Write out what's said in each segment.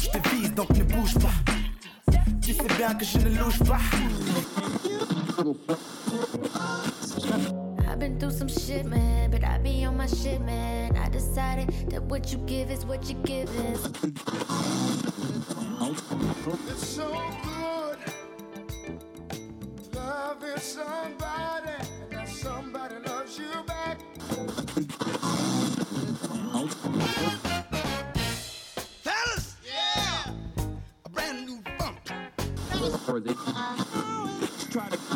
Je te vise donc ne bouge pas. Tu sais bien que je ne louche pas. I've been through some shit, man, but I be on my shit, man. I decided that what you give is what you give is. It's so good loving somebody, and that somebody loves you back. Fellas, yeah, a brand new funk. Try to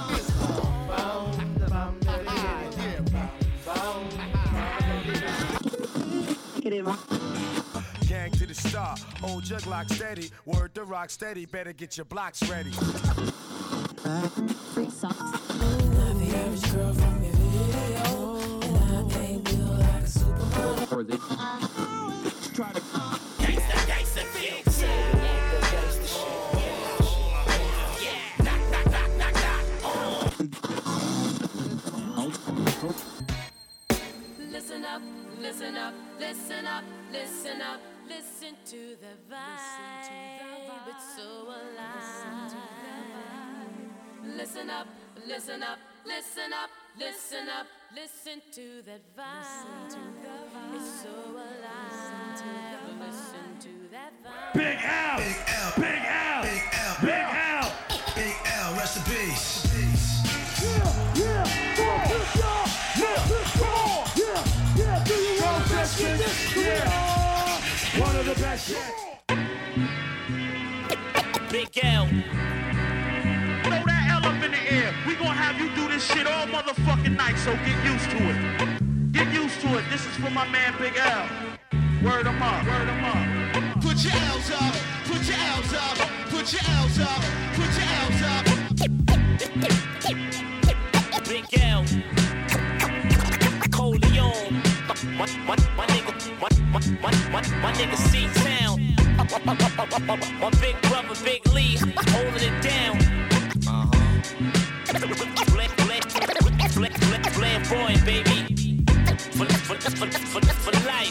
gang to the star, hold your Glock steady, word to rock steady, better get your blocks ready. Free socks. Not the average girl from your video, and I ain't built like a supermodel. Try to Gangsta fix. Gangsta shit. Yeah. Knock. Listen up, listen up, listen up, listen up, listen to the vibe. It's so alive. Listen up, listen up, listen up, listen up, listen to that vibe. It's so alive. Listen to that vibe. Big L, Big L, Big L, Big L, Big L, Big L, rest in peace. One of the best yet. Big L. Throw that L up in the air. We gonna have you do this shit all motherfucking night, so get used to it. Get used to it. This is for my man Big L. Word him up, word him up. put your L's up, put your L's up, put your L's up, put your L's up. Big L. Coleon. My nigga C-Town. My big brother, Big Lee, holding it down. Flamboyant, baby. For life.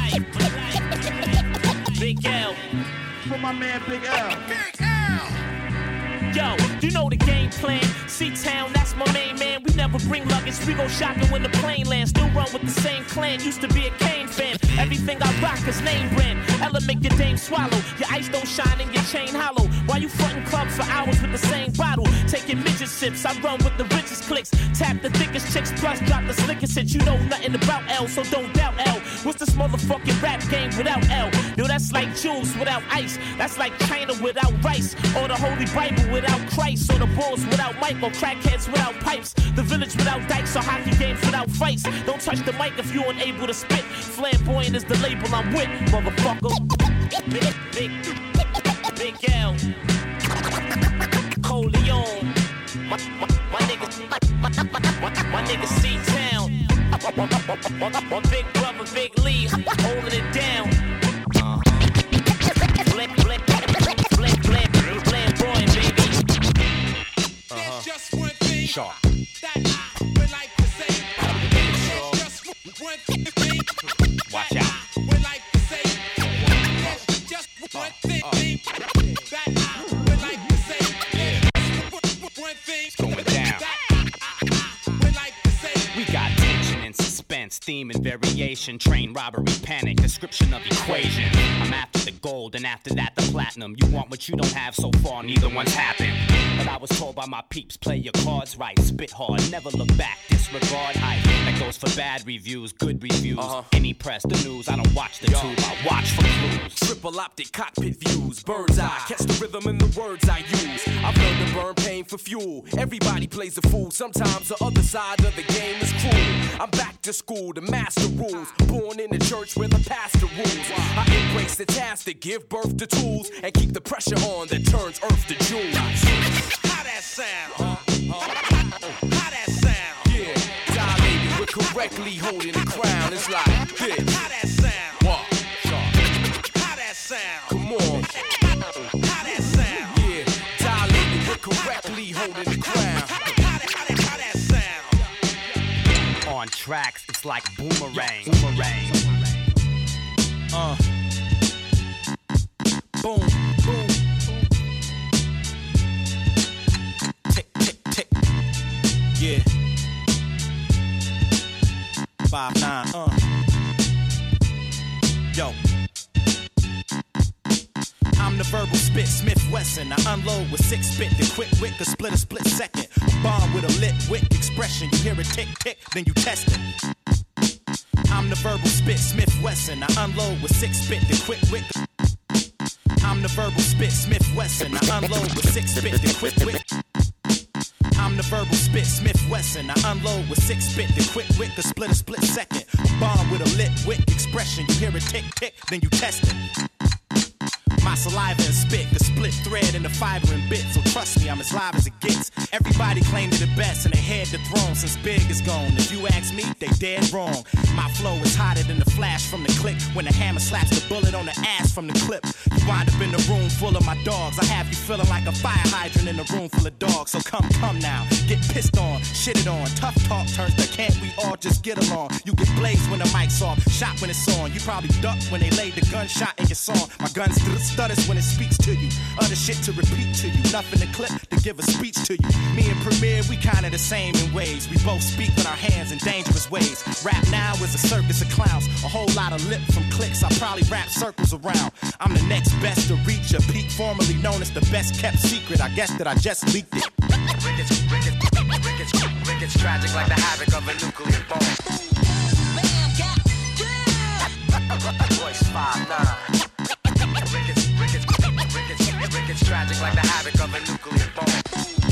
Big L. For my man, Big L. Big L. Yo, you know the game plan. C-Town, that's my main man. We never bring luggage, we go shopping when the plane lands. Still run with the same clan, used to be a Kane fan. Everything I rock is name brand. Ella make your dame swallow. Your ice don't shine and your chain hollow. Why you frontin' clubs for hours with the same bottle? Taking midget sips, I run with the richest clicks. Tap the thickest chicks, plus drop the slickest hits. You know nothing about L, so don't doubt L. What's this motherfucking rap game without L? Yo, that's like Jules without ice. That's like China without rice. Or the Holy Bible without Christ. Or the Bulls without Mike. Or crackheads without pipes. The village without dikes. Or hockey games without fights. Don't touch the mic if you ain't able to spit. Flamboyant is the label I'm with, motherfucker. Big L. Coleon. My nigga C-Town. My big brother, Big Lee, holding it down. Flamboyant, baby. There's just one thing Sharp. that I would like to say. There's just one thing. Watch out. Would like to say. There's just one thing that I would like to say. There's one thing Going down. that I would like to say. We got tension and suspense, theme and variation, train robbery, panic, description of equation. I'm after the gold and after that the platinum. You want what you don't have, so far neither one's happened. But I was told by my peeps, play your cards right, spit hard, never look back, disregard hype. That goes for bad reviews, good reviews. Any press, the news, I don't watch the tube, I watch for clues. Triple optic cockpit views, bird's eye, catch the rhythm in the words I use. I've learned to burn pain for fuel. Everybody plays a fool, sometimes the other side of the game is cruel. I'm back to school to master rules, born in the church where the pastor rules. I embrace the task to give birth to tools and keep the pressure on that turns earth to jewels. How that sound? How that sound? Yeah, dilated with correctly holding the crown. It's like this. How that sound? What? How that sound? Come on. How that sound? Yeah, dilated with correctly holding the crown. How that sound? On tracks, it's like boomerang. boom, boom. Tick, tick, tick. Yeah. 5'9", Yo. I'm the verbal spit, Smith Wesson. I unload with 6 spit, the quick wit could split a split second. Bomb with a lit wit expression. You hear it tick, tick, then you test it. I'm the verbal spit, Smith Wesson. I unload with 6 spit, the quick wit. I'm the verbal spit, Smith Wesson. I unload with 6 spit, the quick wit. I'm the verbal spit, Smith Wesson. I unload with 6 spit, the quick wit could split a split second. Bomb with a lit wit expression. You hear it tick, tick, then you test it. My saliva and spit, the split thread and the fiber and bit. So trust me, I'm as live as it gets. Everybody claimed it the best and they had the throne since Big is gone. If you ask me, they dead wrong. My flow is hotter than the flash from the click. When the hammer slaps the bullet on the ass from the clip. You wind up in the room full of my dogs. I have you feeling like a fire hydrant in a room full of dogs. So come now, get pissed on, shitted on. Tough talk turns to can't we all just get along. You get blazed when the mic's off, shot when it's on. You probably ducked when they laid the gunshot in your song. My gun stutters when it speaks to you. Other shit to repeat to you. Nothing to clip to give a speech to you. Me and Premier, we kinda the same in ways. We both speak with our hands in dangerous ways. Rap now is a circus of clowns. A whole lot of lip from clicks. I probably wrap circles around. I'm the next best to reach a peak, formerly known as the best kept secret. I guess that I just leaked it. Ricketts tragic like the havoc of a nuclear bomb. Voice 5'9". Ricketts tragic like the havoc of a nuclear bomb.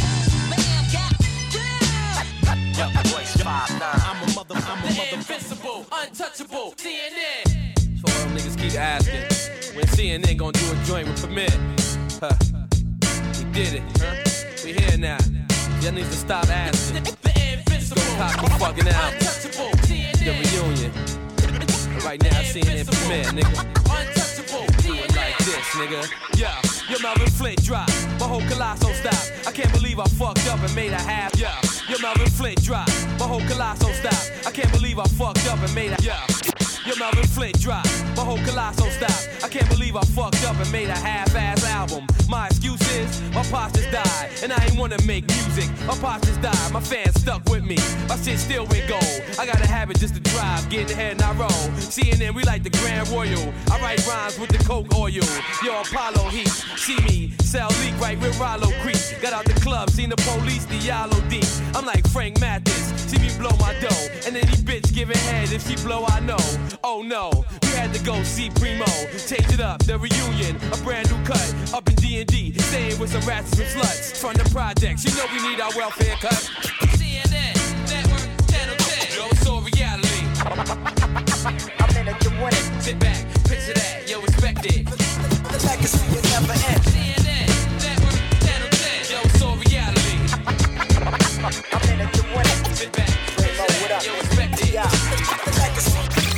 Voice 5'9". I'm a mother. Invincible, untouchable, CNN. So all them niggas keep asking, when CNN gonna do a joint with Premier? Huh. We did it, huh? We here now. Y'all need to stop asking. The invincible, go cop the fucking album. Untouchable, The CNN. reunion. And right now, CNN Premier, nigga. Untouchable, Do it like this, nigga. Yeah, your Melvin Flint drop. My whole Colosso stop. I can't believe I fucked up and made a half. Yeah, your Melvin Flint drop. My whole Colosso stop. I can't believe I fucked up and made a. Yeah. Your Melvin Flint drop, my whole Colosso stop. I can't believe I fucked up and made a half-ass album. My excuse is, my pops just died, and I ain't wanna make music. My pops just died, my fans stuck with me. My shit still went gold. I got a habit just to drive, get ahead and I roll. CNN, we like the Grand Royal. I write rhymes with the Coke oil. Yo, Apollo Heat, see me, sell leak right with Rollo Creek. Got out the club, seen the police, the Yellow D. I'm like Frank Mathis, see me blow my dough. And any bitch giving head, if she blow, I know. Oh no, we had to go see Primo. Change it up, the reunion, a brand new cut. Up in D&D, staying with some rats and some sluts. From the projects, you know we need our welfare cut. CNN, Network, Channel 10. Yo, it's all reality. I'm in it to win it. Sit back, picture that, yo, expect it. The legacy will never end. CNN, Network, Channel 10. Yo, it's all reality. I'm in it to win it. Sit back, picture that, yo, expect it. Yeah, the legacy.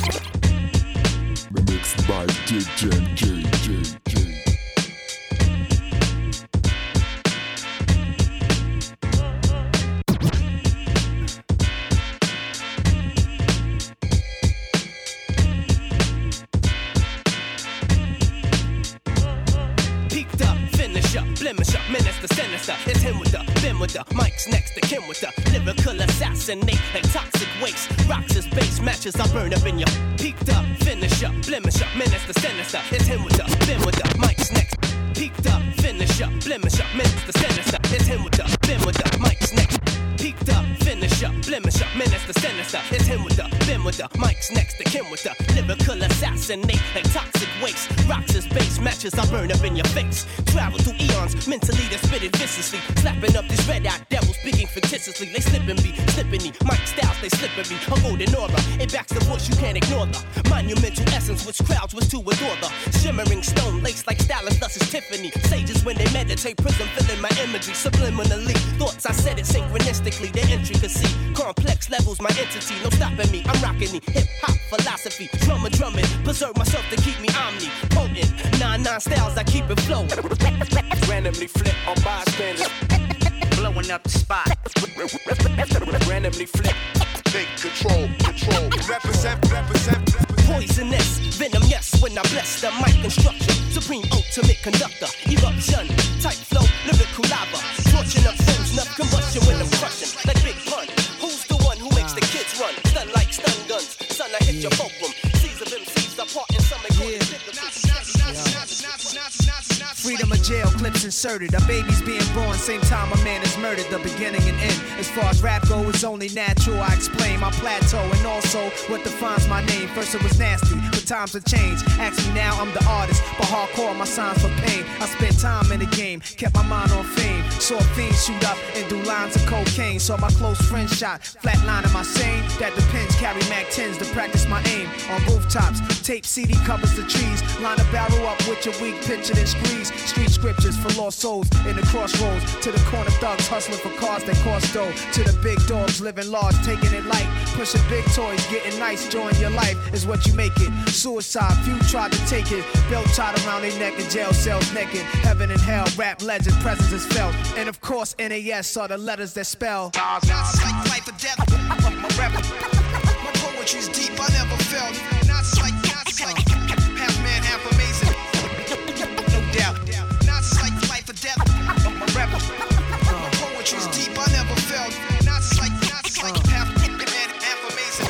Mixed by DJ. Peaked up, finish up, blemish up, menace the sinister. It's him with the, Ben with the, Mike's next to Kim with the lyrical assassinate like toxic waste. Rocks his base matches, I burn up in your. Peaked up, finish up, blemish up, menace the sinister. It's him with the, Ben with the, Mike's next. Peaked up, finish up, blemish up, menace the sinister. It's him with the, Ben with the, Mike's next. Peaked up, finish up, blemish up, menace the sinister. It's him with the, Ben with the, Mike's next to Kim with the lyrical assassinate like toxic waste. Rocks his base matches, I burn up in your face. Travel through eons, mentally they spit it viciously. Slapping up these red-eyed devils, speaking fictitiously. They slipping me, Mike Styles, they slipping me. A golden aura, it backs the voice, you can't ignore the monumental essence which crowds was to adore the shimmering stone lace like stylist, thus is Tiffany. Sages when they meditate, prism filling my imagery subliminally. Thoughts I said it synchronistically, the intricacy. Complex levels, my entity, no stopping me. I'm rocking the hip-hop philosophy. Drumming, preserve myself to keep me omnipotent. 9 styles, I keep it flowing. Randomly flip on bystanders. Blowing up the spot. Randomly flip. Take control. Represent. Poisonous, venom, yes, when I bless the mic construction. Supreme ultimate conductor, eruption, type flow, lyrical lava. Torching up fools, enough combustion when I'm crushing. Like Big Pun, who's the one who makes the kids run? Stun like stun guns, son, I hit your fulcrum. Seas of MCs apart in some Freedom of jail, clips inserted. A baby's being born, same time a man is murdered. The beginning and end. As far as rap go, it's only natural. I explain my plateau and also what defines my name. First it was nasty, but times have changed. Ask me now, I'm the artist, but hardcore my signs for pain. I spent time in the game, kept my mind on fame. Saw fiends shoot up and do lines of cocaine. Saw my close friend shot, flatlining my sane. That depends, carry Mac 10s to practice my aim. On rooftops, tape CD covers the trees. Line a barrel up with your weak picture and squeeze. Street scriptures for lost souls in the crossroads. To the corner thugs hustling for cars that cost dough. To the big dogs living large, taking it light. Pushing big toys, getting nice, join your life is what you make it. Suicide, few tried to take it. Belt tied around their neck in jail cells naked. Heaven and hell, rap legend, presence is felt. And of course, NAS are the letters that spell. Not like life or death. My poetry's deep, I never felt. Not like half man, half amazing. No doubt. Not like life or death. My poetry's deep, I never felt. Not like half man, half amazing.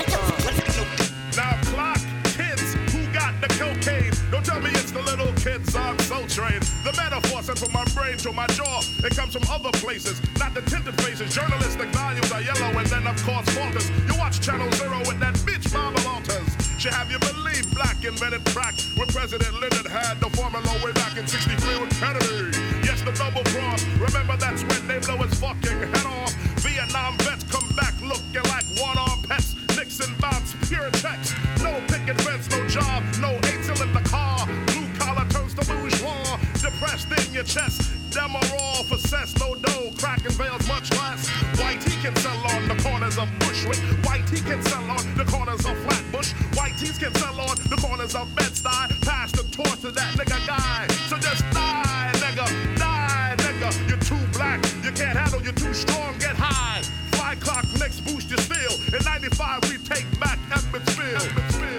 Now clock, kids, who got the cocaine? Don't tell me it's the little kids on Soul Train. The metaphor sent from my brain to my jaw. It comes from other places, not the tinted faces. Journalistic values are yellow and then of course falters. You watch Channel Zero with that bitch Mama Walters. She have you believe black invented crack when President Lyndon had the formula way back in 63 with Kennedy. Yes, the double cross. Remember that's when they blow his fucking head off. Vietnam vets come back looking like one-armed pets. Nixon bounce, pure text. No picket fence, no job, no eight-till in the car. Blue collar turns to bourgeois. Depressed in your chest. Them are all for cess, no dough. Cracking veils much less. White he can sell on the corners of Bushwick. White he can sell on the corners of Flatbush. White tees can sell on the corners of Bed-Stuy. Pass the torch to that nigga guy. So just die, nigga. Die, nigga. You're too black. You can't handle, you're too strong. Get high. Fly clock, next boost your steel. In 95, we take back Emmetsville.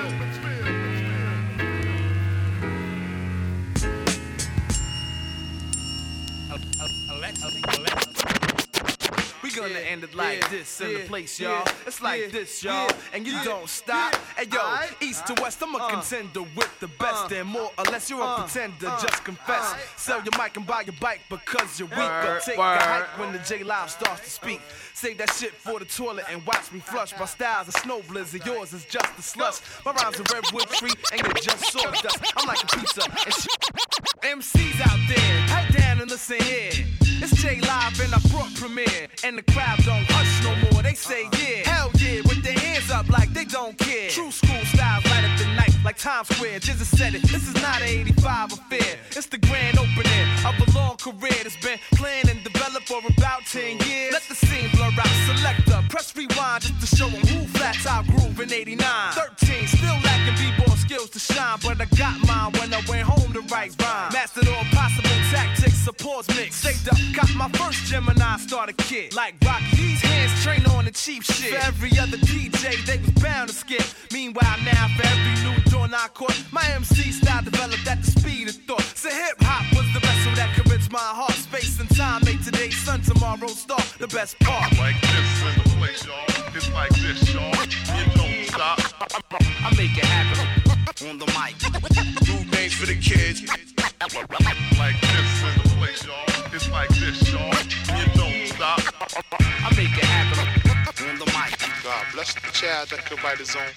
We gonna end it like this in the place, y'all. It's like this, y'all, and you don't stop. Hey, yo, east to west, I'm a contender with the best, and more or less, you're a pretender. Just confess. Sell your mic and buy your bike because you're weak. Or take a hike when the J Live starts to speak. Save that shit for the toilet and watch me flush. My style's a snow blizzard, yours is just a slush. My rhymes are redwood tree, and you're just sawdust. I'm like a pizza and shit. MCs out there, head down and listen here. It's J Live and I brought premiere, and the crowd don't hush no more. They say yeah, hell yeah, with their hands up like they don't care. True school style, light up the night like Times Square. Jizza said it. This is not an 85 affair. It's the grand opening of a long career that's been planned and developed for about 10 years. Let the scene blur out. Selector, press rewind just to show them who flats out groove in 89. 13, still lacking b-ball skills to shine, but I got mine when I went home to write rhyme. Mastered all possible tactics, supports mix. Saved up, got my first Gemini starter kit. Like Rocky, these hands train on the cheap shit. For every other DJ, they was bound to skip. Meanwhile now, for every new dawn I caught, my MC style developed at the speed of thought. So hip-hop was the vessel that could rinse my heart. Space and time made today's sun, tomorrow's star. The best part. Like this in the place, y'all. It's like this, y'all. You don't stop. I make it happen on the mic. New names for the kids. Like this in the place, y'all. It's like this, y'all. You don't stop. I make it happen on the mic. God bless the child that could write his own.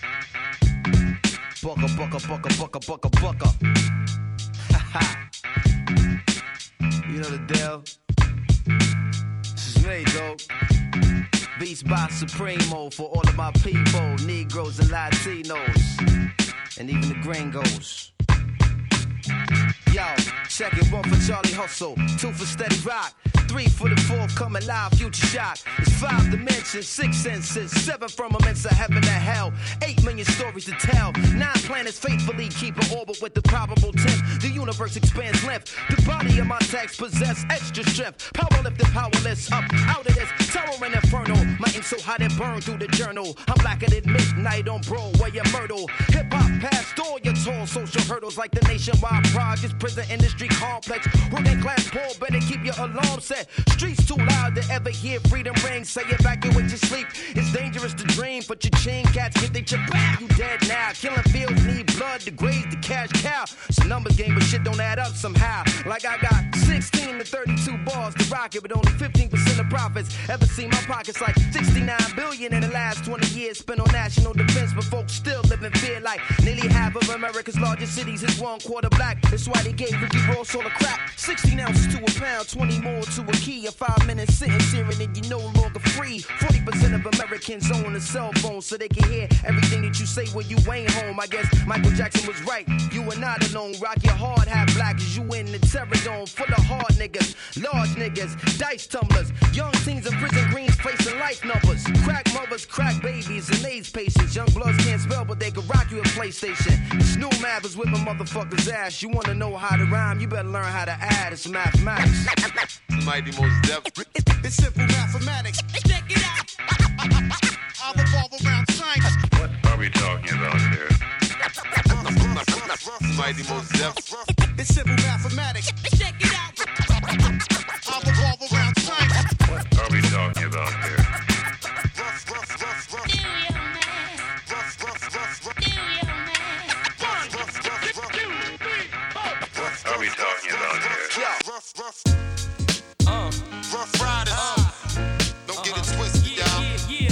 Bucka, bucka, bucka, bucka, bucka, bucka. Ha You know the deal. This is me, though. Beats by Supremo for all of my people, Negroes and Latinos, and even the gringos. Yo, check it, 1 for Charlie Hustle, 2 for Steady Rock, 3 for the fourth, coming live, future shock. It's 5 dimensions, 6 senses, 7 firmaments of heaven and hell, 8 million stories to tell. 9 planets faithfully keep an orbit with the probable 10th. The universe expands length. The body of my text possess extra strength. Power lifted, powerless, up out of this terror and inferno. My ink so hot it burned through the journal. I'm blacker than midnight on Broadway and Myrtle. Hip hop past all your tall social hurdles like the nationwide projects, prison industry complex. Working class poor, better keep your alarm set. Streets too loud to ever hear freedom ring. Say evacuate your sleep. It's dangerous to dream, but your chain cats get they chip back. You dead now. Killing fields need blood to graze the cash cow. It's a numbers game, but shit don't add up somehow. Like I got 16 to 32 bars to rock it, but only 15% of profits. Ever see my pockets like 69 billion in the last 20 years spent on national defense, but folks still live in fear like nearly half of America's largest cities is 1/4 black. That's why they gave Ricky Ross all the crap. 16 ounces to a pound, 20 more to a key. A 5 minute sentence here and then you're no longer free. 40% of Americans own a cell phone so they can hear everything that you say when you ain't home. I guess Michael Jackson was right. You are not alone. Rock your hard hat black as you in the terror dome. Full of hard niggas, large niggas, dice tumblers. Young teens in prison greens facing life numbers. Crack mothers, crack babies, and AIDS patients. Young bloods can't spell, but they can rock you a PlayStation. Snoop Mathers whip a motherfucker's ass. You wanna know how to rhyme? You better learn how to add. It's mathematics. Mighty Mos Def. It's simple mathematics. Check it out. I'll revolve around science. What are we talking about here? Mighty Mos Def. It's simple mathematics. Check it out. I'll revolve around science. What are we talking about here? What are we talking about here? Rough Riders. Don't get it twisted, y'all.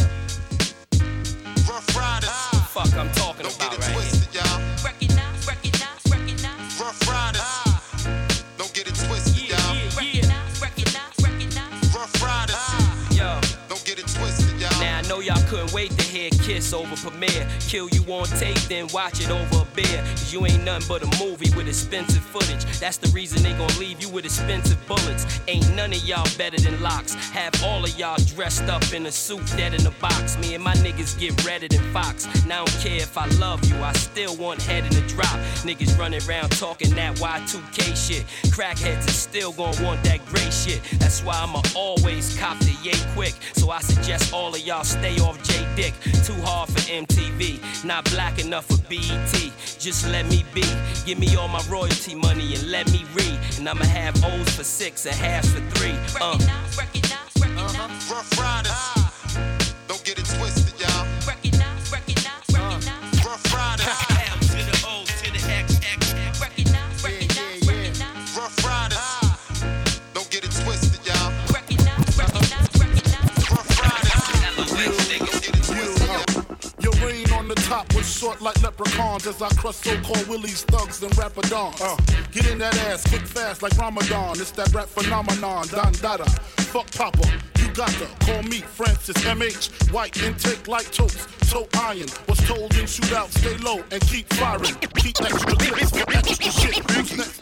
Rough Riders. Fuck, I'm talking Don't about get it right twisted, y'all. Recognize, recognize, recognize. Rough Riders. Don't get it twisted, y'all. Recognize, recognize, recognize. Rough Riders. Yo. Don't get it twisted, y'all. Now I know y'all couldn't wait to hear Kiss over premiere. Kill you on tape, then watch it over a beer. Cause you ain't nothing but a movie with expensive footage. That's the reason they gon' leave you with expensive bullets. Ain't none of y'all better than Locks. Have all of y'all dressed up in a suit, dead in a box. Me and my niggas get redder than Fox. Now I don't care if I love you, I still want head in the drop. Niggas running around talking that Y2K shit. Crackheads is still gon' want that gray shit. That's why I'ma always cop the yay quick. So I suggest all of y'all stay off J Dick. Too hard for MTV, not black enough for BET. Just let me be. Give me all my royalty money and let me read. And I'ma have O's for 6 and halves for 3. Recognize, recognize, recognize. Rough Riders. Don't get it twisted, y'all. Recognize, recognize, recognize. Rough Riders. M to the O to the XX. Recognize, recognize, recognize. Rough Riders. Don't get it twisted, y'all. Recognize, recognize, recognize. Rough Riders. Don't get it twisted, y'all. Your reign on the top was short like leprechauns as I crush so-called willies, thugs, and rapadons. Get in that ass quick fast like Ramadan. It's that rap phenomenon, Don Dada. Fuck Papa, you got to call me Francis MH. White intake like toast, toe iron. Was told in shootout, stay low and keep firing. Keep extra clips for extra shit. Who's next?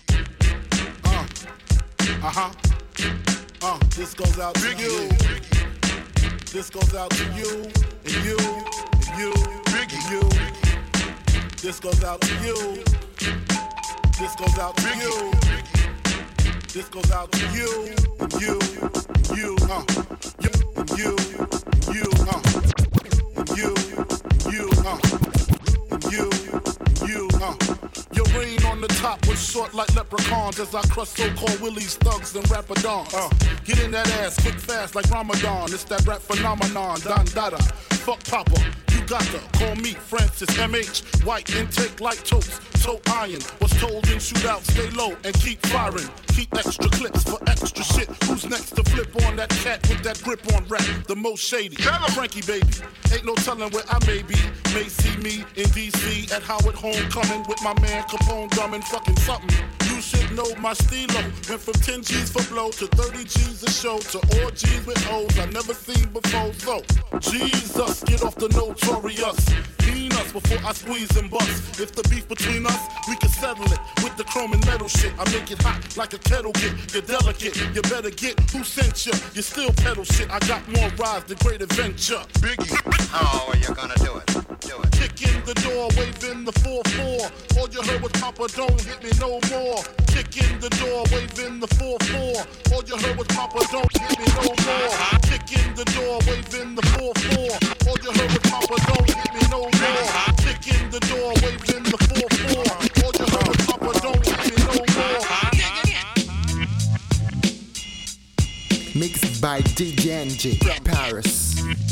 This goes out to you. This goes out to you and you and you and you. This goes out to you. This goes out to you. This goes out to you and you and you. You and you and you. And you and you. And you and you. Your reign on the top was short like leprechauns as I crush so-called willies, thugs, and rapadons. Get in that ass quick fast like Ramadan. It's that rap phenomenon, Don Dada. Fuck Papa, you got to call me Francis MH. White intake like toast, toe iron. Was told in shootout, stay low and keep firing. Keep extra clips for extra shit. Who's next to flip on that cat with that grip on rap? The most shady. Frankie baby, ain't no telling where I may be. May see me in DC at Howard Homecoming with my man Capone drumming fucking something. You should know my stilo. Went from 10 G's for blow to 30 G's a show to all G's with O's I never seen before. So, Jesus, get off the notorious. Keen us before I squeeze and bust. If the beef between us, we can settle it with the chrome and metal shit. I make it hot like a kettle get. You're delicate, you better get who sent you. You still pedal shit. I got more rides, the great adventure. Biggie, how are you gonna do it? Do it. Kick in the door, waving the 4-4. All you heard was Papa, don't hit me no more. Kick in the door, waving the 4-4. All you heard was Papa, don't hit me no more. Kick in the door, waving the 4-4. All you heard was Papa, don't hit me no more. Kick in the door, waving the 4-4. All you heard was Papa, don't hit me no more. Mixed by DJNG Paris.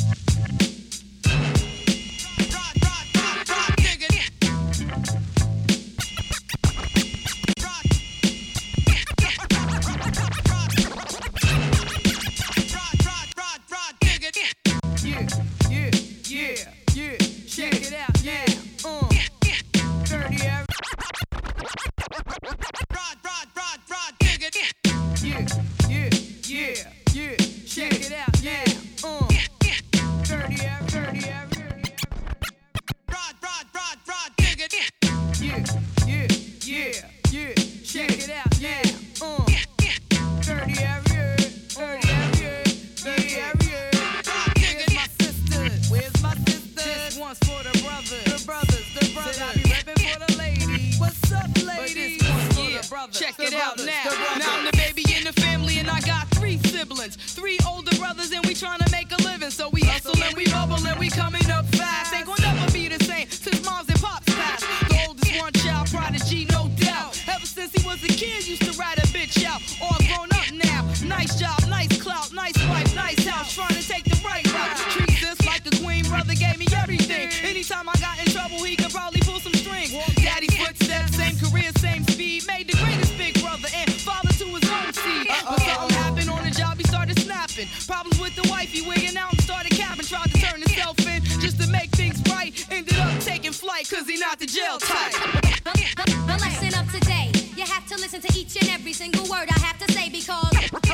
Check it out now. Now I'm the baby in the family and I got 3 siblings. 3 older brothers and we tryna make a living. So we hustle and we bubble and we coming up fast. Ain't gonna never be the same since moms and pops passed. The oldest one child prodigy, no doubt. Ever since he was a kid, used to ride a bitch out. All grown up now. Nice job, nice clout, nice wife, nice house. Trying to take the right route. Treat this like a queen, brother gave me everything. Anytime I got in trouble, he could probably pull some strings. Daddy's footsteps, same career, same speed. Made the greatest big brother and father to his own seed. But something happened on the job, he started snapping. Problems with the wife, he wigging out and started capping. Tried to turn himself in just to make things right. Ended up taking flight cause he not the jail type. The lesson of today, you have to listen to each and every single word I have to say because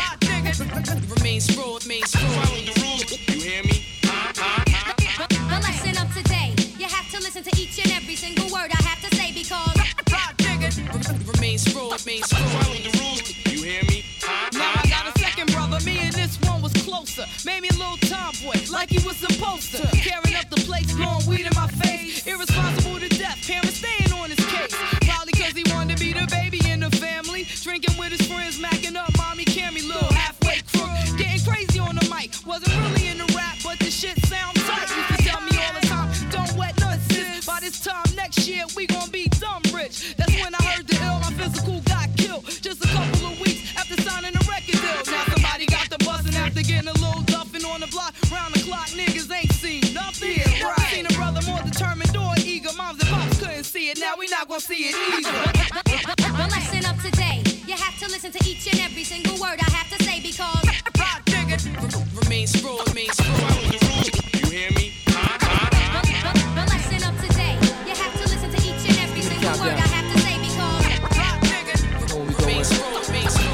remains true, it means true. Follow the rules, you hear me? The lesson of today, you have to listen to each and every single word I have to say because remains true, it means true. Follow the rules, you hear me? Now I got a second brother, me and this one was closer. Made me a little tomboy, like he was supposed to. Carrying up the plates, blowing weed in my face. Irresponsible to death, parents staying on his case. Probably cause he wanted to be the baby in the family. Drinking with his friends, macking up mommy Cammy, little halfway crook. Getting crazy on the mic, wasn't really in the rap, but the shit sound tight. Used to tell me all the time, don't wet nuts, sis. By this time next year, we gon' be dumb rich. That's when I heard the ill, my physical got killed. Just a couple of weeks after signing a record deal. Now somebody got the bustin' after getting a little duffin' on the block. Round the clock, niggas ain't seen nothing. Yeah, never seen a brother more determined or eager. Moms and pops couldn't see it, now we not gonna see it either. the lesson of today, you have to listen to each and every single word I have to say because remains true, it means true. Follow the rules, you hear me? The lesson of today, you have to listen to each and every single word I have to say because remains true, it means true.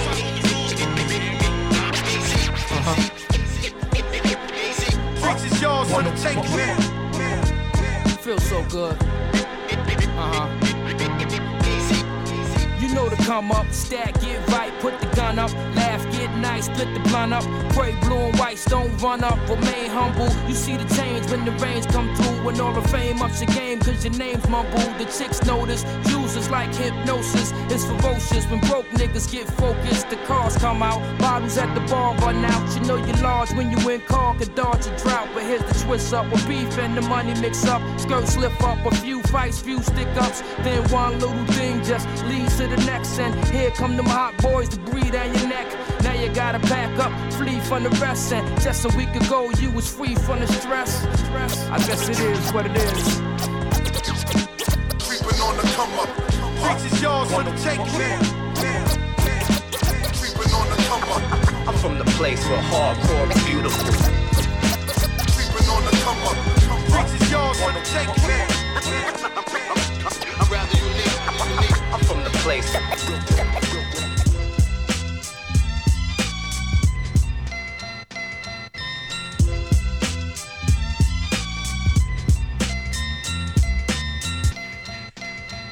Freaks is yours for the taking, man. Feels so good. You know to come up, stack, get right, put the gun up, laugh, get nice, split the blunt up, pray blue and white, don't run up, remain humble. You see the change when the rains come through, when all the fame ups your game, cause your name's mumbled. The chicks notice, users like hypnosis, it's ferocious when broke niggas get focused. The cars come out, bottles at the bar run out. You know you're large when you in car, could dodge a drought. But here's the twist up, with beef and the money mix up, skirts slip up, a few fights, few stick ups, then one little thing just leads to the next. And here come them hot boys to breathe down your neck. Now you gotta pack up, flee from the rest. And just a week ago you was free from the stress. I guess it is what it is. Creeping on the come up. Freaks is yours for the taking, man. Creeping on the come up. I'm from the place where hardcore is beautiful. Creeping on the come up. Freaks is yours for the taking, man. I'm rather unique. I'm from the place.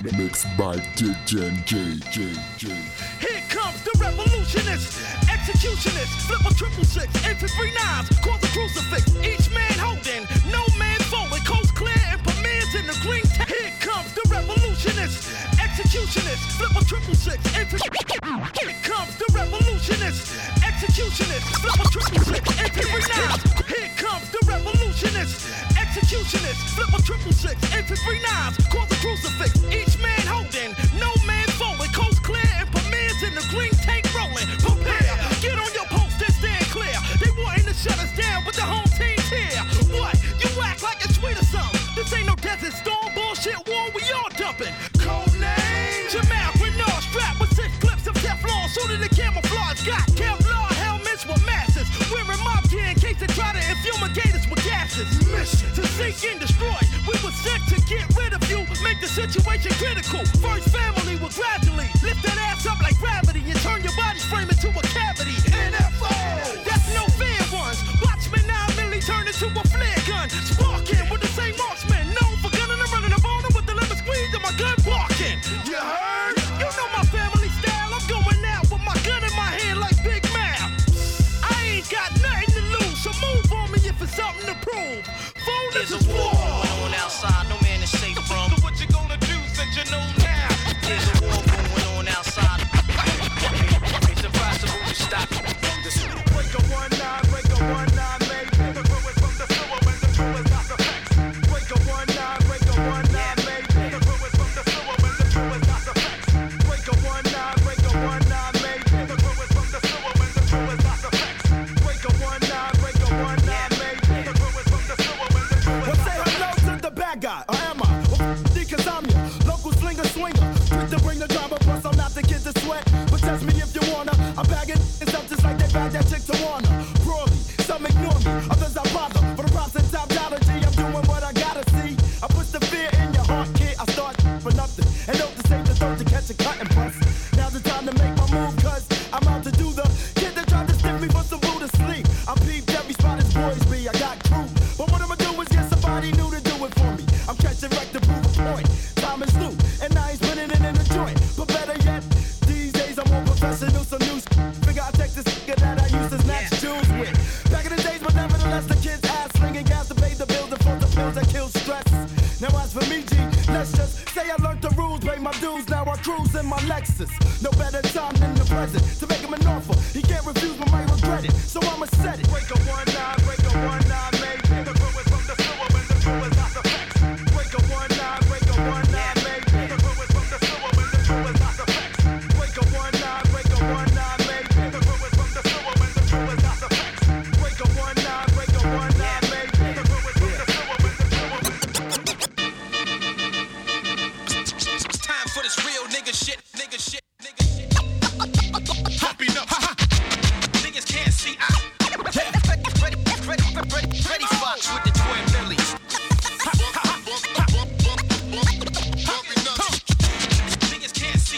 Mixed by DJ J. Here comes the revolutionist, executionist, flip a 666, infantry knives, call the crucifix. Each man holding, no man folding, coast clear and premieres in the green. Here comes the revolutionist, executionist, flip a 666, infantry. Here comes the revolutionist, executionist, flip a 666, infantry knives. Here comes the revolutionist, executionist, flip a 666, infantry knives, call the crucifix. Each man holding, no man folding, coast clear and premieres in the green tank rolling. Prepare, get on your post and stand clear. They wanting to shut us down, but the home team's here. What? You act like it's sweet or something. This ain't no desert storm bullshit war, we all dumping. Code name Jamal Grenard, strapped with 6 clips of Teflon, suited to camouflage. Got Kevlar helmets with masses, wearing mob gear in case they try to infumigate us with gases. Mission to seek and destroy. We were sent to get rid of you, make the situation critical. First family will gradually lift that ass up like gravity and turn your body frame into a cavity. NFO, that's no fair ones. Watchmen 9 milli turn into a flare gun. Sparking with the same marksman, known for gunning and running up on them with the lemon squeeze and my gun barking. You heard? You know my family style. I'm going out with my gun in my hand like Big Mouth. I ain't got nothing to lose, so move on me if it's something to prove. There's a war going on outside, no man is safe from. So what you gonna do since you know now? There's a war going on outside. It's impossible to stop. Break a 1-9, break a 1-9, mate. The crew is from the sewer when the crew is not the facts. Break a 1-9, break a 1-9, mate. The crew is from the sewer when the crew is not the facts. Break a 1-9, break a 1-9, mate. The crew is from the sewer when the crew is not the facts. Break a 1-9, break a 1-9, mate. The crew is from the sewer when the crew is not the facts. Well, say hello to the bad guy, or am I? Well, cause I'm your local slinger swinger. Quick to bring the drama, plus I'm not the kid to sweat. But test me if you wanna. I'm bagging it's up just like they bag that chick to Warner. Broadly, some ignore me, others I bother. For the props and top dollar G, I'm doing what I gotta see. I put the fear in your heart, kid. I start for nothing. And hope to save the throat to catch a cut and bust. Now's the time to make my move, cause I'm out to do the kid that tried to stick me for some boo to sleep. I peeped every spot as boys be, I got crew. But what I'ma do is get somebody new to do it for me. I'm catching wreck to prove a point. Time is new, and I ain't spinning it in the joint. But better yet, these days I'm more professional, some new figure I take this nigga that I used to snatch jewels with. Back in the days, but nevertheless, the kids ass slinging gas to pay the bills and for the pills that kill stress. Now as for me, G, let's just say I learned the rules, pay my dues, now I cruise in my Lexus. No better time than the present to make him an offer. He can't refuse, but might regret it, so I'ma set it. Break a 1-9, break a 1-9, mate. The crew is from the sewer when the crew is not the facts. Break a 1-9, break a 1-9, mate. The crew is from the sewer when the crew is not the facts. Break a 1-9, break a 1-9, mate. The crew is from the sewer when the crew is not the facts. Break a 1-9, break a 1-9, mate. The crew is from the sewer when the crew is. Time for this real nigga shit, nigga shit, nigga shit. Hopping up, niggas can't see. Freddie Fox with the twin Billies. Niggas can't see.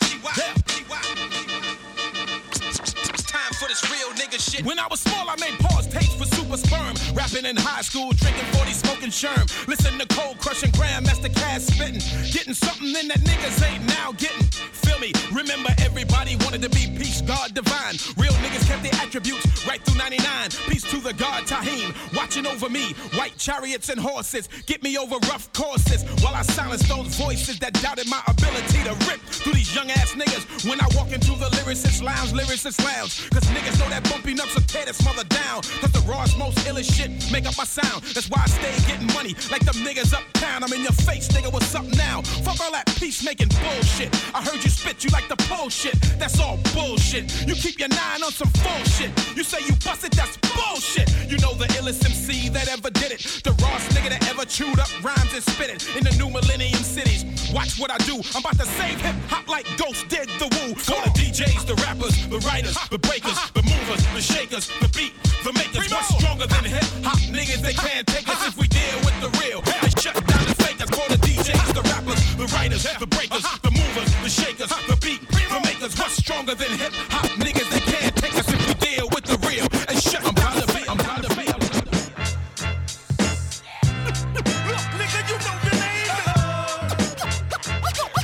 Time for this real nigga shit. When I was small, I made pause tapes for Super Sperm. Rapping in high school, drinking 40, smoking Sherm. Listen to Cold crushing Grandmaster Cass spitting. Getting something in that niggas ain't now getting. Feel me? Remember everybody wanted to be peace, God divine. Real niggas kept their attributes right through 99. Peace to the God Tahim, watching over me. White chariots and horses, get me over rough courses. While I silence those voices that doubted my ability to rip through these young ass niggas. When I walk into the lyricist lounge. Cause niggas know that bumpy nuts will tear this mother down. Cause the rawest, most illest shit make up my sound. That's why I stay getting money like them niggas uptown. I'm in your face, nigga, what's up now? Fuck all that peacemaking bullshit. I heard you spit, you like the bullshit. That's all bullshit. You keep your 9 on some bullshit. You say you busted, that's bullshit. You know the illest MC that ever did it. The rawest nigga that ever chewed up rhymes and spit it. In the new millennium cities, watch what I do. I'm about to save hip hop like Ghost did the woo. Call the DJs, the rappers, the writers, the breakers, the movers, the shakers, the beat, the makers. What's stronger than hip hop niggas? They can't take us if we deal with the real. They shut down the fakers. Call the DJs, the rappers, the writers, the breakers, the movers, the shakers, the beat, the makers. What's stronger than hip hop niggas? They can't take us if we deal with the real. And shut I'm proud to be. I'm proud to be. Look, nigga, you know your name.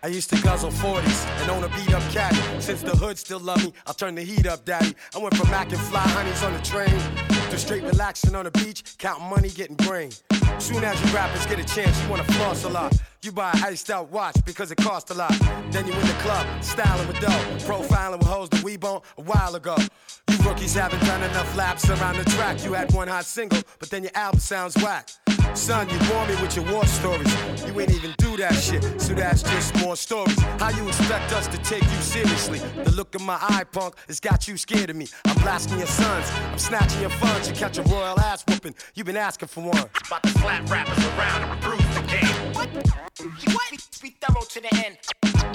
I used to guzzle 40s and own a beat up caddy. Since the hood still love me, I'll turn the heat up, daddy. I went from macking fly honeys on the train to straight relaxing on the beach, counting money, getting brain. Soon as you rappers get a chance, you wanna floss a lot. You buy an iced out watch because it cost a lot. Then you in the club, styling with dough, profiling with hoes that we bone a while ago. You rookies haven't done enough laps around the track. You had one hot single, but then your album sounds whack. Son, you bore me with your war stories. You ain't even do that shit, so that's just more stories. How you expect us to take you seriously? The look of my eye, punk, has got you scared of me. I'm blasting your sons, I'm snatching your funds. You catch a royal ass whooping, you been asking for one. About to slap rappers around and bruise the game. What? Be thorough to the end.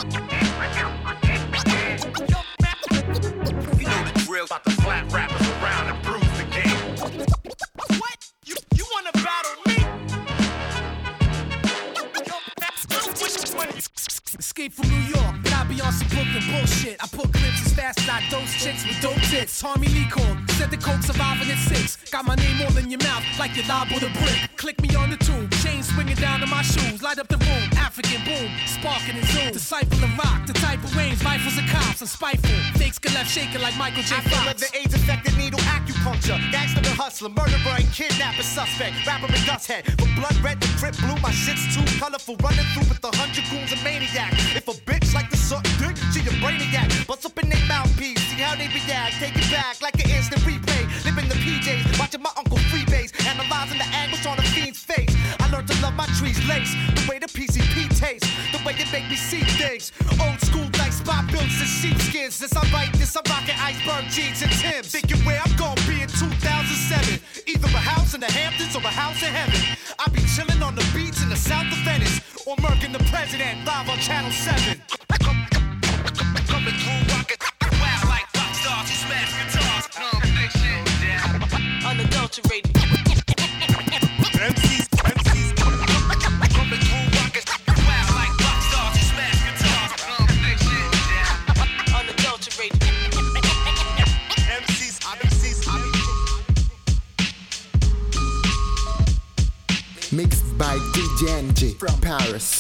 You know the drill. About to slap rappers around and bruise the game. What? You wanna battle me? Escape from New York, but I be on some Brooklyn bullshit. I pull clips as fast as I dose chicks with dope tits. Tommy Lee called, said the coke surviving at 6. Got my name all in your mouth like you lob with a brick. Click me on the tune, chain swinging down to my shoes. Light up the room, African boom, sparking and zoom. Disciple of rock, the type of range, rifles and cops. I'm spiteful, fakes get left shaking like Michael J. Fox. The AIDS affected needle acupuncture. Gangster and hustler, murderer and kidnapper suspect. Rapper and dust head, from blood red to trip blue. My shit's too colorful, running through with 100 goons and maniac. If a bitch like to suck dick, she a brainiac. Bust up in they mouthpiece, see how they react. Take it back like an instant replay. Live in the PJs, watching my uncle freebase. Analyzing the angles on a fiend's face. I learned to love my trees lace. The way the PCP tastes, the way it make me see things. Old school like spot builds and sheepskins. Since I write this, I'm rocking iceberg jeans and Timbs. Thinking where I'm gonna be in 2007. Either a house in the Hamptons or a house in heaven. I be chilling on the beach in the south of Venice. Or murking the president live on Channel 7. Coming through rocket, wild like rock stars who smash guitars. Big shit down. Unadulterated. MCs. Coming through rocket, wild like rock stars who smash guitars. Big shit down. Unadulterated. MCs. Mixed by DJ NJ from Paris.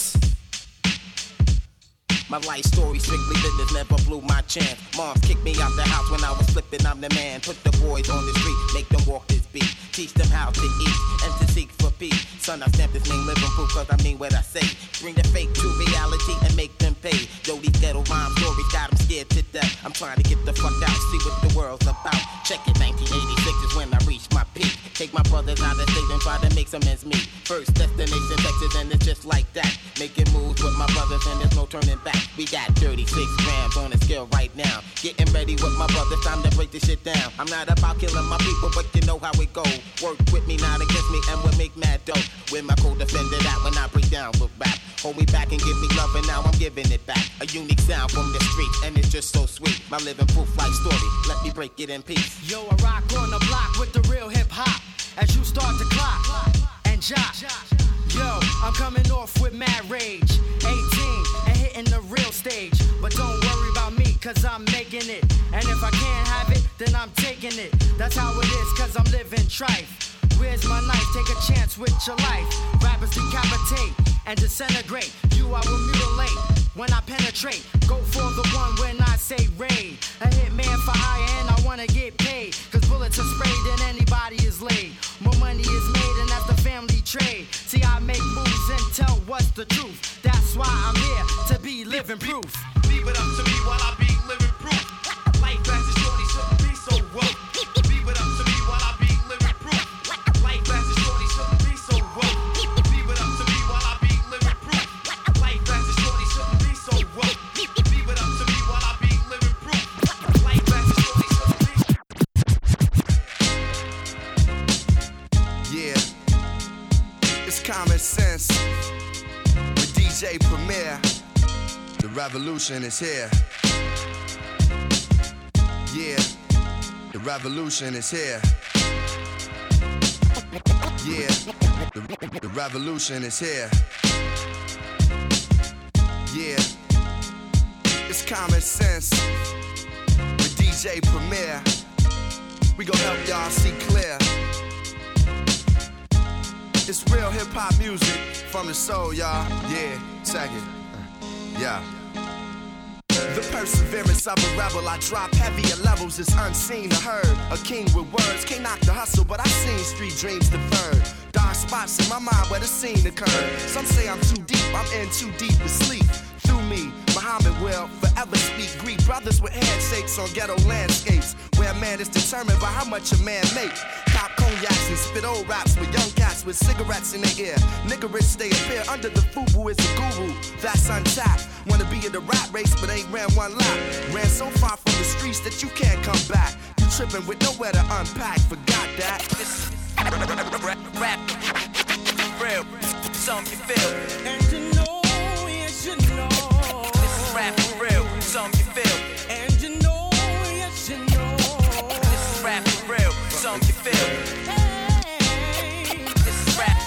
My life story strictly business, never blew my chance. Moms kicked me out the house when I was flipping, I'm the man. Put the boys on the street, make them walk this beat. Teach them how to eat and to seek for peace. Son, I stamp this name living proof cause I mean what I say. Bring the fake to reality and make them pay. Yo, these ghetto rhyme stories got them scared to death. I'm trying to get the fuck out, see what the world's about. Check it, 1986 is when I reached my peak. Take my brothers out of state and try to make some ends meet. First destination Texas and it's just like that. Making moves with my brothers and there's no turning back. We got 36 grams on the scale right now. Getting ready with my brothers, time to break this shit down. I'm not about killing my people, but you know how it goes. Work with me, not against me, and we'll make mad dough. With my co-defender that when I break down with rap. Hold me back and give me love, and now I'm giving it back. A unique sound from the streets, and it's just so sweet. My living proof life story, let me break it in peace. Yo, I rock on the block with the real hip hop. As you start to clock and jock. Yo, I'm coming off with mad rage. 18 and hitting the real stage. But don't worry about me, cause I'm making it. And if I can't have it, then I'm taking it. That's how it is, cause I'm living trife. Where's my knife? Take a chance with your life. Rappers decapitate and disintegrate. You I will mutilate when I penetrate. Go for the one when I say raid. A hitman for hire and I wanna get paid. Cause bullets are sprayed and anybody is laid. More money is made and that's the family trade. See, I make moves and tell what's the truth. That's why I'm here to be living proof. Leave it up to me while I be living proof. Life as a shorty shouldn't be so rough. Leave it up to me while I be living proof. Life as a shorty shouldn't be so rough. Leave it up to me while I be living proof. Life as a shorty shouldn't be so rough. Leave it up to me while I be living proof. Life as a shorty shouldn't be. Yeah, it's common sense with DJ Premier. The revolution is here. Yeah, the revolution is here. Yeah, the revolution is here. Yeah, it's common sense with DJ Premier. We gon' help y'all see clear. It's real hip hop music from the soul, y'all. Yeah, check it. Yeah. The perseverance of a rebel, I drop heavier levels, it's unseen or heard. A king with words, can't knock the hustle, but I've seen street dreams deferred. Dark spots in my mind where the scene occurred. Some say I'm too deep, I'm in too deep to sleep. Through me, Muhammad will forever speak. Greet brothers with handshakes on ghetto landscapes, where a man is determined by how much a man make. Cop cognacs and spit old raps with young cats with cigarettes in their ear. Niggerish they appear under the FUBU is a guru, that's untapped. Wanna be in the rap race but ain't ran one lap. Ran so far from the streets that you can't come back. You tripping with nowhere to unpack, forgot that. This rap, real, something you feel. And you know, yes you know. This is rap for real, something you feel. And you know, yes you know. This is rap for real, something you feel. Hey. This is rap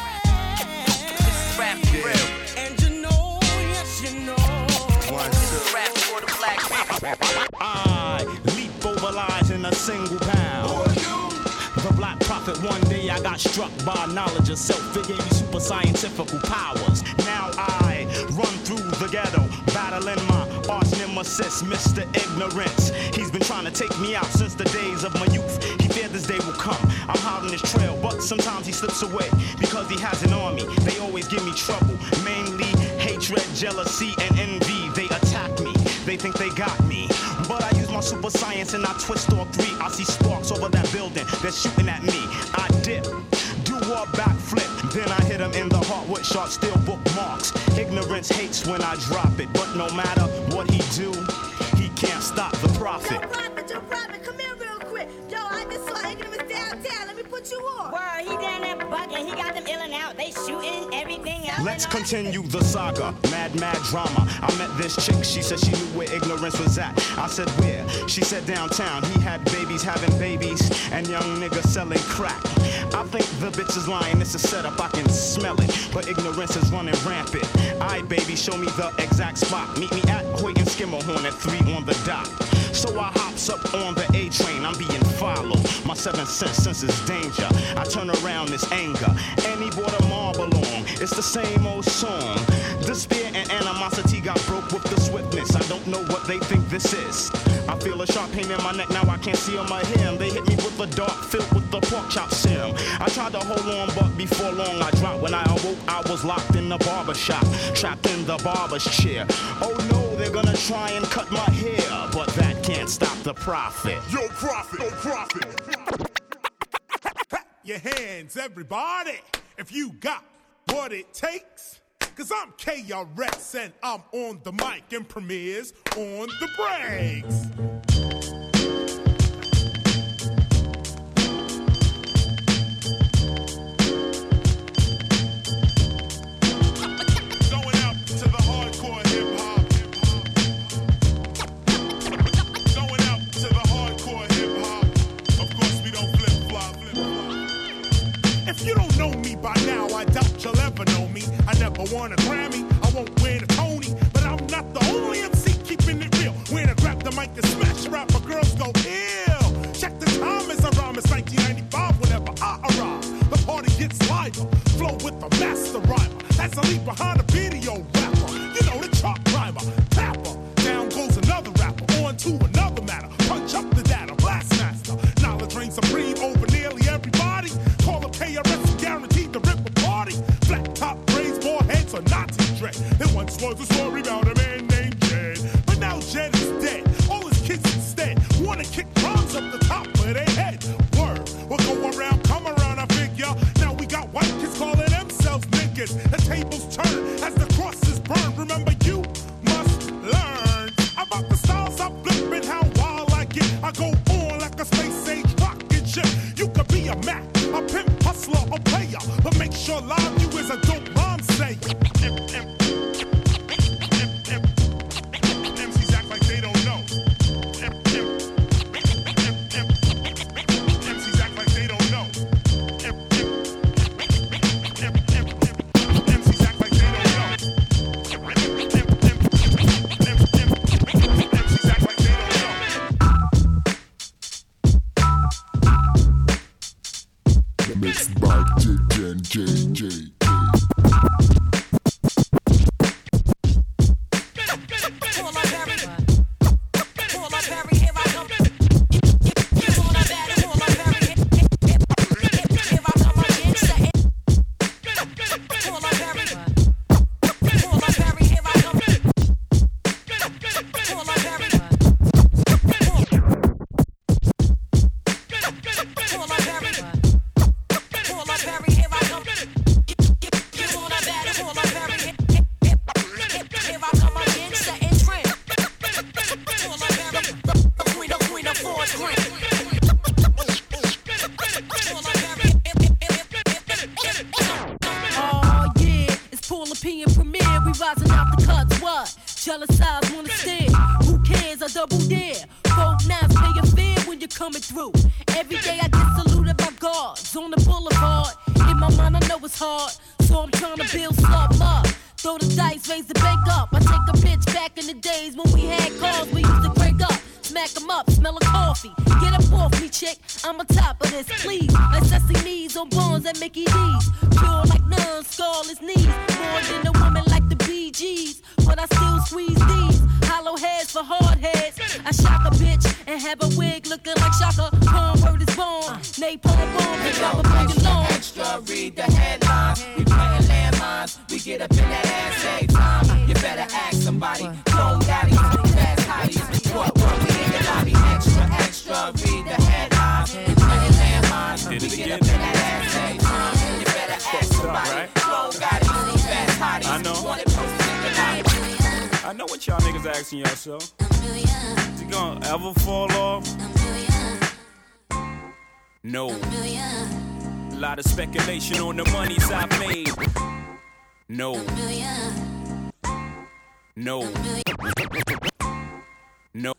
for real. And you know, yes you know. This is rap for the black people. I leap over lies in a single pound. The black prophet, one day I got struck by knowledge of self. It gave me super scientific powers. Now I run through the ghetto, battling my arch nemesis, Mr. Ignorance. He's been trying to take me out since the days of my youth. He feared this day will come. I'm hot on his trail, but sometimes he slips away because he has an army. They always give me trouble, mainly hatred, jealousy, and envy. They attack me, they think they got me. But I use my super science and I twist all three. I see sparks over that building, they're shooting at me. I dip, do a backflip, then I hit him in the heart with sharp steel bookmarks. Ignorance hates when I drop it, but no matter what he do, he can't stop the prophet. Joe Prophet, come here real quick. Yo, I just saw Ignorance downtown. Let me put you on. Word, he down there bugging. He got them ill and out. They shooting everything else. Let's continue the saga, mad drama. I met this chick, she said she knew where Ignorance was at. I said where? She said downtown. He had babies having babies and young niggas selling crack. I think the bitch is lying, it's a setup, I can smell it. But Ignorance is running rampant. Aight baby, show me the exact spot. Meet me at Hoyt and Skimmerhorn at 3 on the dot. So I hops up on the A train, I'm being followed. My 7th senses danger. I turn around this anger, and he brought a marble along. It's the same old song. Despair and animosity got broke with the swiftness. I don't know what they think this is. I feel a sharp pain in my neck, now I can't see on my hair. They hit me with a dart filled with the pork chop serum. I tried to hold on, but before long I dropped. When I awoke, I was locked in the barber shop, trapped in the barber's chair. Oh no, they're gonna try and cut my hair, but that can't stop the prophet. Yo, prophet, yo, prophet. Your hands, everybody, if you got what it takes. Cause I'm KRS and I'm on the mic and Premier's on the breaks. Going out to the hardcore hip-hop. Going out to the hardcore hip-hop. Of course we don't flip-flop. If you don't know me by now, I doubt you'll ever know me. I never won a Grammy, I won't win a Tony, but I'm not the only MC keeping it real. When I grab the mic and smash rap, my girls go ill. Check the time as I rhyme, it's 1995 whenever I arrive. The party gets liver, flow with the master rhymer. That's a leap behind a video rapper. You know the chart climber, tapper. Down goes another rapper, on to another matter. Punch up the data, blast master. Knowledge reigns supreme over nearly everybody. Call up KRS and guaranteed to rip a party. Flat top braids, more heads or Nazi dread. There once was a story about a man named Jed, but now Jed is dead. All his kids instead wanna kick drums up the top of their head. Word, we'll go around, come around, I figure. Now we got white kids calling themselves niggas. The tables turn as the crosses burn. Remember, you must learn about the styles I flip and how wild I get. I go on like a space age rocket ship. You could be a Mac, a pimp, hustler, or player, but make sure live you is a dope rhyme say. MCs act like they don't know. MCs act like they don't know. MCs act like they don't know. MCs act like they don't know. Mixed by JJ. We rising out the cuts, what? Jealous eyes wanna stare. Who cares? I double dare. 4-9s pay your fare when you're coming through. Every day I get saluted by guards on the boulevard. In my mind I know it's hard, so I'm trying to build something up. Throw the dice, raise the bank up. I take a bitch back in the days when we had cars we used to crank up. Smack 'em up, smell of coffee. Get up off me, chick, I'm on top of this, please. Like Sesame's on Bonds at Mickey D's. Pure like none, scarless knees. More than a woman like the Bee Gees. But I still squeeze these. Hollow heads for hard heads. I shock a bitch and have a wig looking like Shaka. Palm word is born. Napalm bomb, pick up a bring it on. Extra, read the headlines. We playing landmines. We get up in that ass every time. You better ask somebody. Clone daddies, fast hotties. What we in the lobby? Extra, extra, read the headlines. We playing landmines. We get up in that ass every time. You better ask somebody. Clone daddies, fast hotties. I know. I know what y'all niggas asking yourself. Is it gonna ever fall off? No. A lot of speculation on the monies I've made. No. No. No.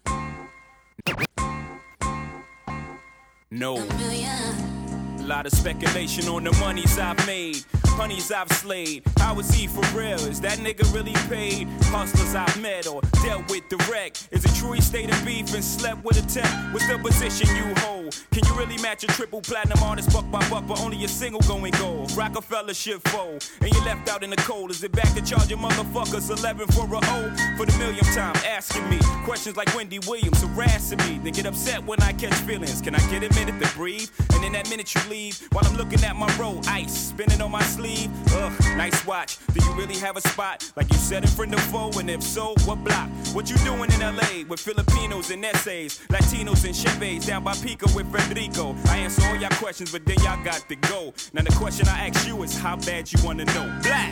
No. A lot of speculation on the monies I've made. Honeys I've slayed. How is he for real? Is that nigga really paid? Hustlers I've met or dealt with direct. Is it true he stayed in beef and slept with a tech? What's the position you hold? Can you really match a triple platinum artist buck by buck, but only a single going gold? Rockefeller shit fold, and you left out in the cold. Is it back to charge your motherfuckers 11 for a O? For the millionth time asking me questions like Wendy Williams harassing me. They get upset when I catch feelings. Can I get a minute to breathe? And in that minute you leave, while I'm looking at my roll, ice spinning on my sleeve. Ugh, nice watch. Do you really have a spot? Like you said in front of foe, and if so, what block? What you doing in LA with Filipinos and essays, Latinos and Chevys down by Pico with Federico? I answer all y'all questions, but then y'all got to go. Now the question I ask you is how bad you wanna know. Blah!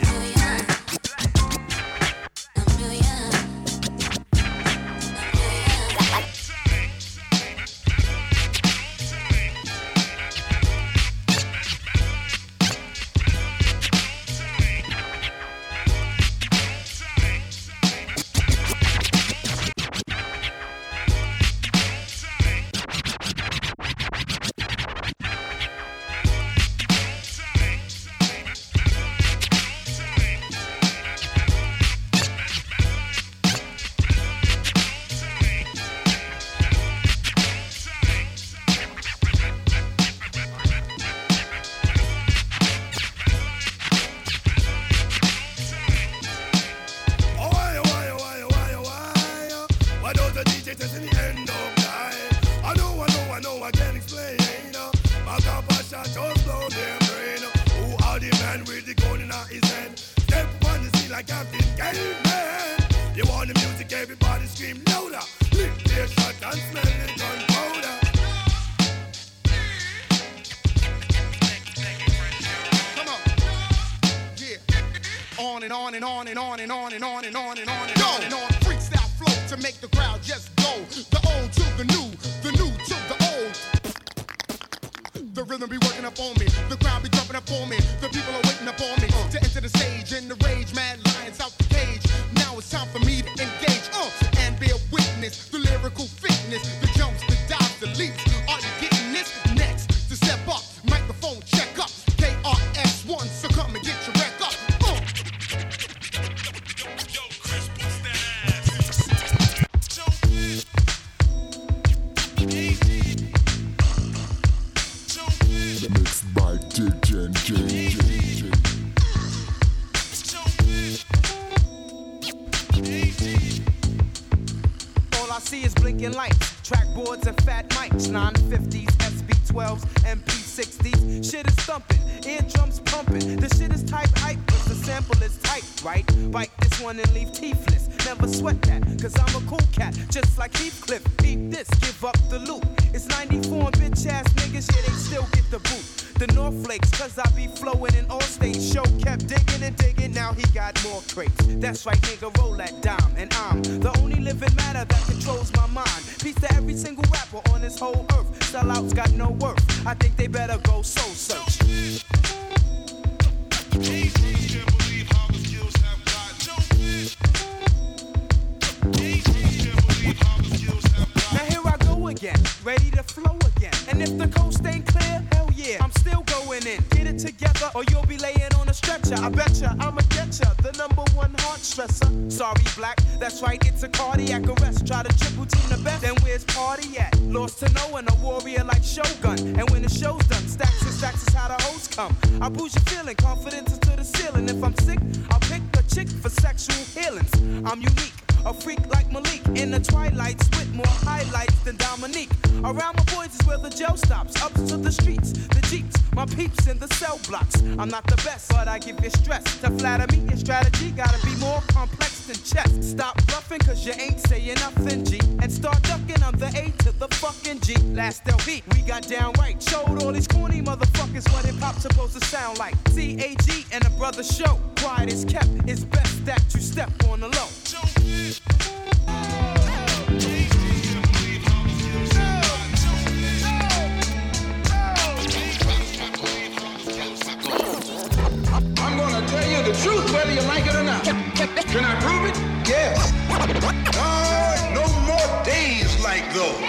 That's right, nigga, roll that dime. And I'm the only living matter that controls my mind. Peace to every single rapper on this whole earth. Sellouts got no worth. I think they better go soul search. ya, I'ma get ya, the #1 heart stressor. Sorry, black, that's right, it's a cardiac arrest. Try to triple team the best, then where's party at? Lost to no one, a warrior like Shogun. And when the show's done, stacks and stacks is how the hoes come. I boost your feeling, confidence is to the ceiling. If I'm sick, I'll pick a chick for sexual healings. I'm unique. A freak like Malik in the twilights with more highlights than Dominique. Around my boys is where the jail stops. Up to the streets, the jeeps, my peeps in the cell blocks. I'm not the best, but I give you stress. To flatter me, your strategy gotta be more complex than chess. Stop bluffing, cause you ain't saying nothing, G. And start ducking, I'm the A to the fucking G. Last LV, we got down right. Showed all these corny motherfuckers what hip hop's supposed to sound like. CAG and a brother show. Quiet is kept, it's best that you step on the low. I'm gonna tell you the truth whether you like it or not. Can I prove it? Yes. No more days like those.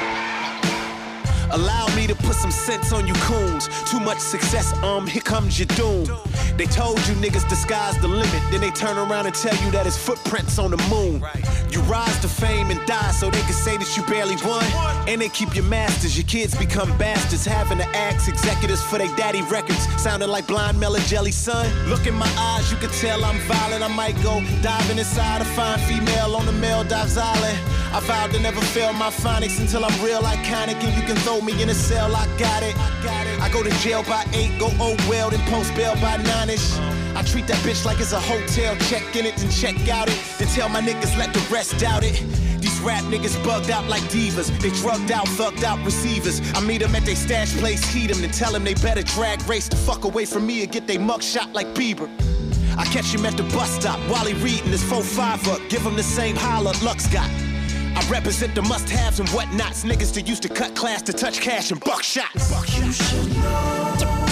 Allow me to put some sense on you coons. Too much success, here comes your doom. They told you niggas the sky's the limit. Then they turn around and tell you that it's footprints on the moon. You rise to fame and die so they can say that you barely won. And they keep your masters, your kids become bastards. Having to ask executives for their daddy records. Sounding like blind Mela Jelly, son. Look in my eyes, you can tell I'm violent. I might go diving inside a fine female on the Maldives Island. I vowed to never fail my phonics until I'm real iconic. And you can throw me in a cell, I got it. I go to jail by 8, go oh well, then post bail by 9ish. I treat that bitch like it's a hotel, check in it, then check out it. Then tell my niggas let the rest doubt it. These rap niggas bugged out like divas. They drugged out, thugged out receivers. I meet them at they stash place, heat them, then tell them they better drag race the fuck away from me and get they mug shot like Bieber. I catch him at the bus stop while he reading his 4-5 up. Give him the same holler Lux got. I represent the must-haves and whatnots. Niggas that used to cut class to touch cash and buckshot. You should know.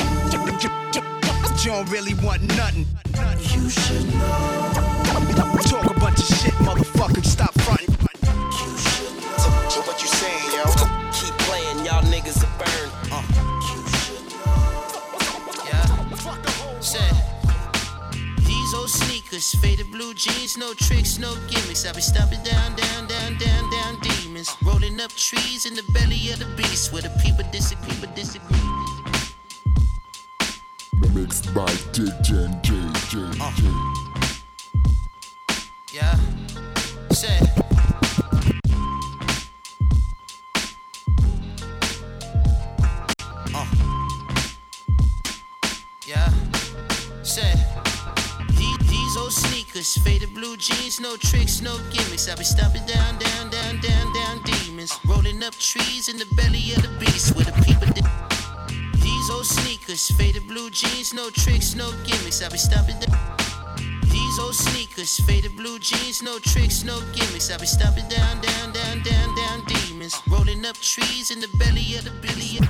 You don't really want nothing. You should know. Talk a bunch of shit, motherfucker. Stop fronting. You should know. So what you saying, yo? Keep playing, y'all niggas are burned. You should know. Yeah. Say. These old sneakers, faded blue jeans, no tricks, no gimmicks. I be stomping down, down, down, down, down demons. Rolling up trees in the belly of the beast where the people disagree. Mixed by DJ JJ. Yeah. Say. Yeah. Say. These old sneakers, faded blue jeans, no tricks, no gimmicks. I be stomping down, down, down, down, down demons. Rolling up trees in the belly of the beast where the people These old sneakers, faded blue jeans, no tricks, no gimmicks. I be stomping down. These old sneakers, faded blue jeans, no tricks, no gimmicks. I be stomping down, down, down, down, down demons. Rolling up trees in the belly of the billion.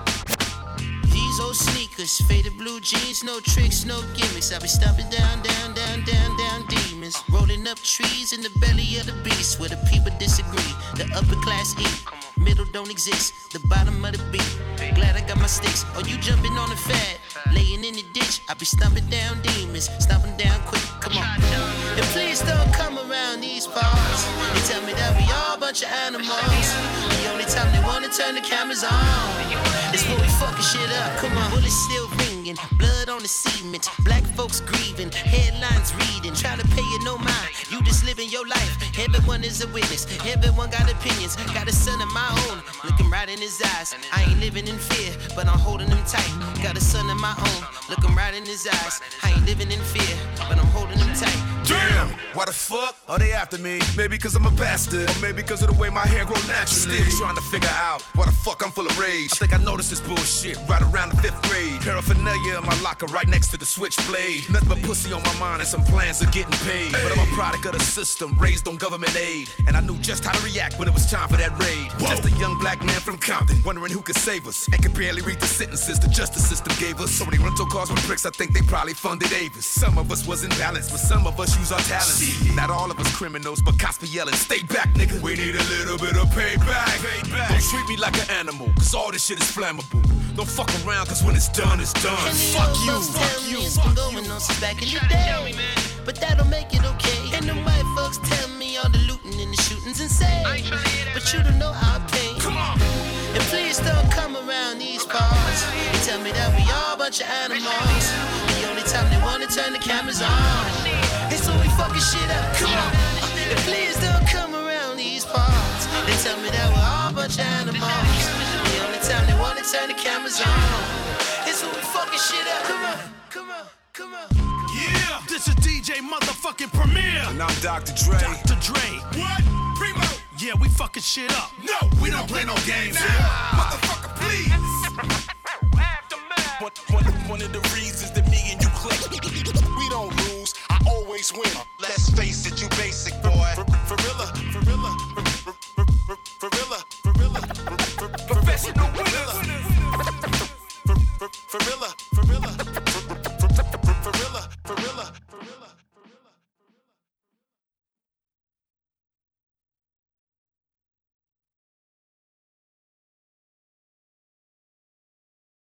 These old sneakers, faded blue jeans, no tricks, no gimmicks. I be stomping down, down, down, down, down demons. Rolling up trees in the belly of the beast where the people disagree. The upper class eat, middle don't exist. The bottom of the beat. Glad I got my sticks. Oh, you jumping on the fad, laying in the ditch. I be stomping down demons, stomping down quick. Come on. And please don't come around these parts. They tell me that we all a bunch of animals. The only time they wanna turn the cameras on is when we fucking shit up. Come on, bullets still ringing, blood on the cement. Black folks grieving, headlines reading, trying to pay you no mind. You just living your life. Everyone is a witness. Everyone got opinions. Got a son of my own, looking right in his eyes. I ain't living in fear, but I'm holding him tight. Got a son of my own, looking right in his eyes. I ain't living in fear, but I'm holding him tight. Damn, why the fuck are they after me? Maybe cause I'm a bastard, or maybe cause of the way my hair grow naturally. Still trying to figure out why the fuck I'm full of rage. I think I noticed this bullshit right around the 5th grade. Paraphernalia in my locker right next to the switchblade. Nothing but pussy on my mind and some plans of getting paid. But I'm a product of the system, raised on government aid. And I knew just how to react when it was time for that raid. Just a young black man from Compton, wondering who could save us. And could barely read the sentences the justice system gave us. So many rental cars with bricks, I think they probably funded Avis. Some of us was in balance, but some of us use our talents. Not all of us criminals, but cops be yelling, stay back, nigga. We need a little bit of payback. Don't treat me like an animal, cause all this shit is flammable. Don't fuck around, cause when it's done, it's done. Fuck you. It's been going on since back in the day. But that don't make it okay. And them white folks tell me all the looting and the shootings insane. But you don't know how I pain. Come on. And please don't come around these parts and tell me that we all a bunch of animals. The only time they wanna turn the cameras on is when we fucking shit up. Come on. And please don't come around these parts and tell me that we're all a bunch of animals. The only time they wanna turn the cameras on is when we fucking shit up. Come on, come on, come on. Yeah, this is DJ motherfucking Premier. And I'm Dr. Dre. Dr. Dre. What? Primo? Yeah, we fucking shit up. No, we don't play no games here. Motherfucker, please. One of the reasons that me and you click, we don't lose, I always win. Let's face it, you basic boy. Professional winners.